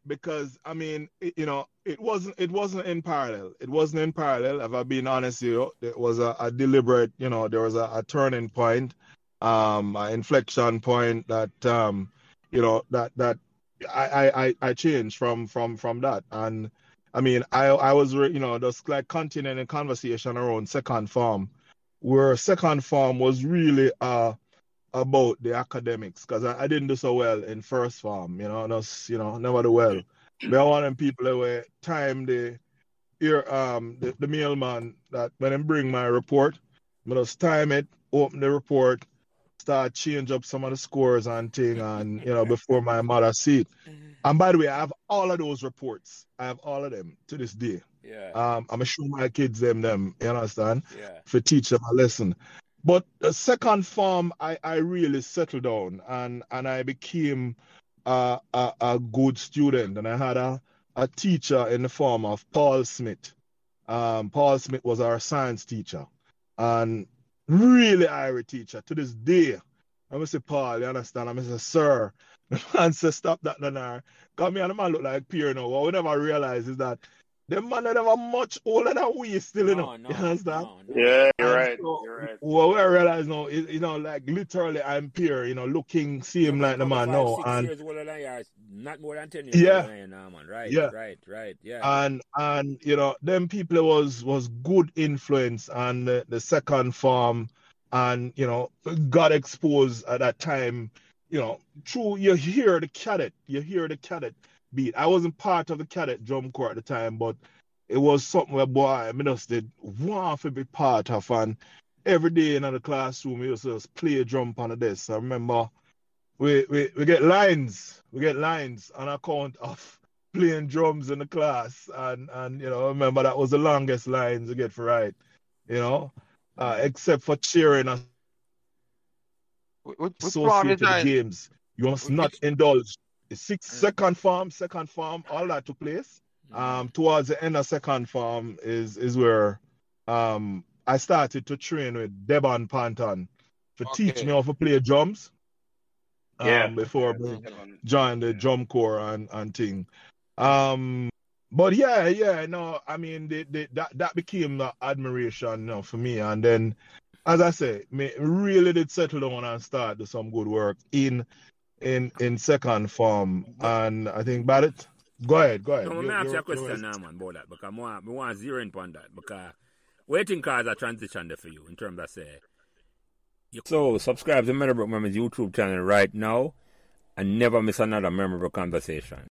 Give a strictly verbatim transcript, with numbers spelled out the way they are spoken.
because I mean, it, you know, it wasn't it wasn't in parallel. It wasn't in parallel. If I'm being honest, you know, it was a, a deliberate. You know, there was a, a turning point, um, an inflection point that um, you know, that that I I I I changed from from from that. And I mean, I I was you know just like continuing a conversation around second form, where second form was really uh about the academics because I, I didn't do so well in first form, you know, just, you know, never do well. But I want them people that were time the here um the, the mailman that when I bring my report, I just time it, open the report, start change up some of the scores and thing and you know before my mother see it. And by the way, I have all of those reports. I have all of them to this day. Yeah. Um, I'm gonna show my kids them them, you understand? Yeah. For teach them a lesson. But the second form, I, I really settled down and, and I became a, a, a good student. And I had a, a teacher in the form of Paul Smith. Um, Paul Smith was our science teacher and really Irish teacher to this day. I'm gonna say, Paul, you understand? I'm gonna say, sir. The man said, stop that, Nanar. Because me and the man look like peer now. What we never realize is that the man are never much older than we still, you know. No, no, you understand? no, no. Yeah, you're And right. so You're right. what we realize now is, you know, like literally I'm peer, you know, looking, see him You're like the probably man five, now. six And years older than you are, not more than ten years yeah, older than you now, man. Right, yeah. right, right, yeah. And and you know, them people was was good influence and the, the second form and you know, got exposed at that time, you know, through you hear the cadet, you hear the cadet beat. I wasn't part of the cadet drum corps at the time, but it was something where boy, I mean, just did want to be part of and every day in the classroom we used to just play drum on the desk. I remember we, we, we get lines, we get lines on account of playing drums in the class and, and you know, I remember that was the longest lines we get for right, you know, uh, except for cheering us Which, which associated games. You must which, not indulge. The sixth, second form, second form, all that took place. Um, towards the end of second form is is where um I started to train with Devon Panton to okay. teach me how to play drums. Um, Yeah. before Yeah, I joined the drum corps and, and thing. Um, but yeah, yeah, no, I mean, the, the, that that became the admiration, you know, for me. And then, as I say, me really did settle down and start do some good work in in in second form. And I think about it. Go ahead, go ahead. No, let me ask you a question now, man, about that, because I want, I want to zero in on that, because what do you think is a transition there for you in terms of, say, you... So, subscribe to Meadowbrook Memories YouTube channel right now and never miss another memorable conversation.